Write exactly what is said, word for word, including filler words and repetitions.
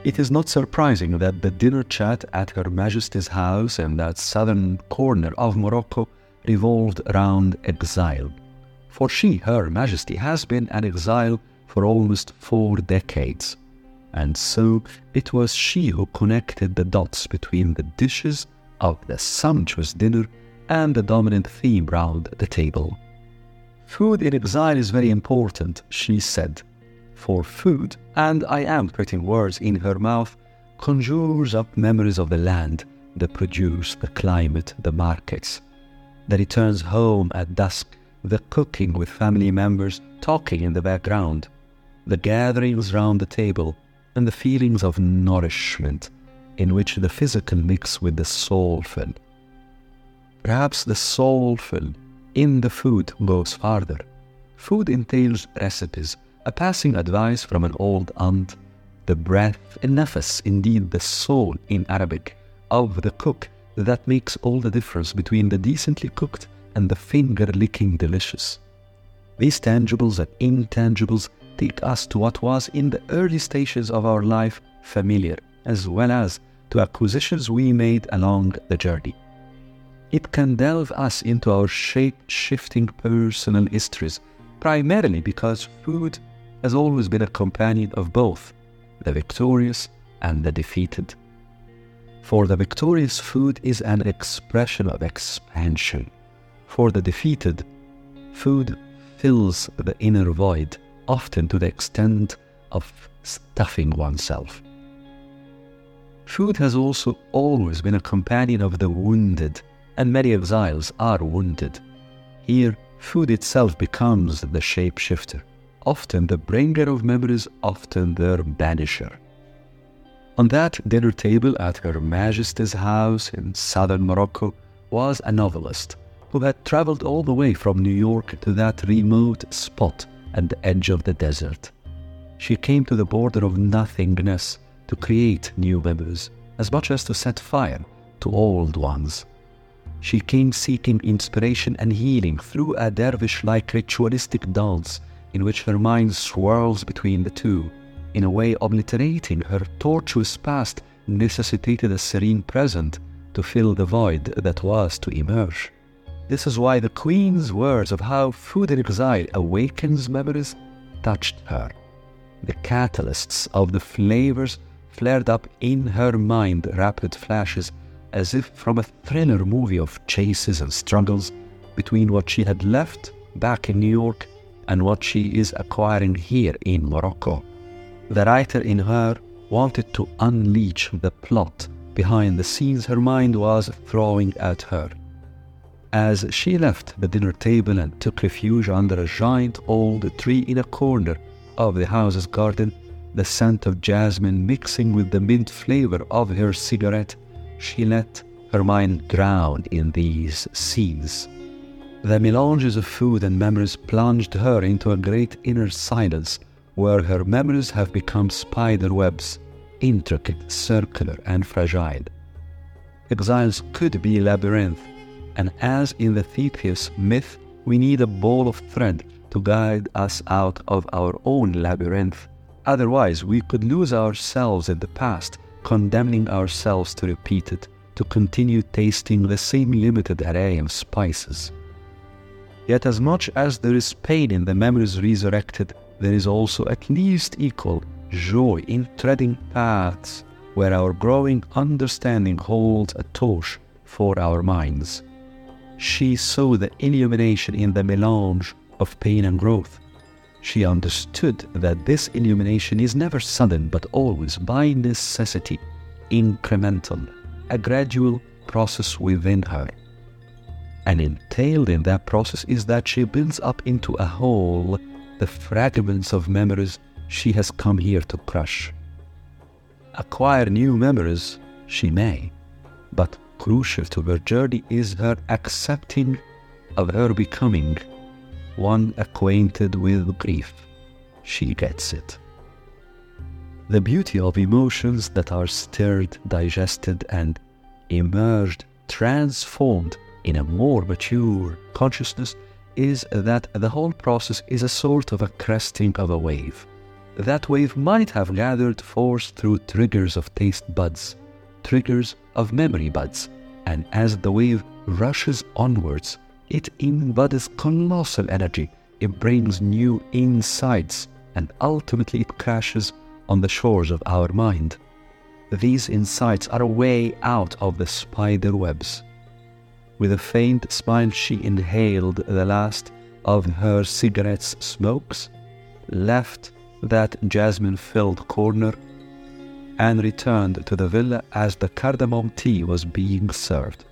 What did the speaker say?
It is not surprising that the dinner chat at Her Majesty's house in that southern corner of Morocco revolved around exile. For she, Her Majesty, has been an exile for almost four decades. And so it was she who connected the dots between the dishes of the sumptuous dinner and the dominant theme round the table. Food in exile is very important, she said, for food, and I am putting words in her mouth, conjures up memories of the land, the produce, the climate, the markets, the returns home at dusk, the cooking with family members talking in the background, the gatherings round the table, and the feelings of nourishment in which the physical mix with the soulful. Perhaps the soulful in the food goes farther. Food entails recipes, a passing advice from an old aunt, the breath, nafas, indeed the soul in Arabic, of the cook that makes all the difference between the decently cooked and the finger-licking delicious. These tangibles and intangibles take us to what was in the early stages of our life familiar, as well as to acquisitions we made along the journey. It can delve us into our shape-shifting personal histories, primarily because food has always been a companion of both the victorious and the defeated. For the victorious, food is an expression of expansion. For the defeated, food fills the inner void, often to the extent of stuffing oneself. Food has also always been a companion of the wounded, and many exiles are wounded. Here, food itself becomes the shape-shifter, often the bringer of memories, often their banisher. On that dinner table at Her Majesty's house in southern Morocco was a novelist who had traveled all the way from New York to that remote spot at the edge of the desert. She came to the border of nothingness to create new memories, as much as to set fire to old ones. She came seeking inspiration and healing through a dervish-like ritualistic dance in which her mind swirls between the two, in a way obliterating her tortuous past necessitated a serene present to fill the void that was to emerge. This is why the Queen's words of how food in exile awakens memories touched her. The catalysts of the flavors flared up in her mind rapid flashes, as if from a thriller movie of chases and struggles between what she had left back in New York and what she is acquiring here in Morocco. The writer in her wanted to unleash the plot behind the scenes her mind was throwing at her. As she left the dinner table and took refuge under a giant old tree in a corner of the house's garden, the scent of jasmine mixing with the mint flavor of her cigarette, she let her mind drown in these scenes. The melanges of food and memories plunged her into a great inner silence where her memories have become spider webs, intricate, circular, and fragile. Exiles could be labyrinth, and as in the Theseus myth, we need a ball of thread to guide us out of our own labyrinth. Otherwise, we could lose ourselves in the past, condemning ourselves to repeat it, to continue tasting the same limited array of spices. Yet as much as there is pain in the memories resurrected, there is also at least equal joy in treading paths where our growing understanding holds a torch for our minds. She saw the illumination in the melange of pain and growth. She understood that this illumination is never sudden but always, by necessity, incremental, a gradual process within her. And entailed in that process is that she builds up into a whole the fragments of memories she has come here to crush. Acquire new memories she may, but crucial to her journey is her accepting of her becoming one acquainted with grief. She gets it. The beauty of emotions that are stirred, digested, and emerged, transformed in a more mature consciousness is that the whole process is a sort of a cresting of a wave. that wave might have gathered force through triggers of taste buds, triggers of memory buds, and as the wave rushes onwards, it embodies colossal energy. It brings new insights, and ultimately it crashes on the shores of our mind. These insights are a way out of the spider webs. With a faint smile, she inhaled the last of her cigarette's smokes, left that jasmine-filled corner, and returned to the villa as the cardamom tea was being served.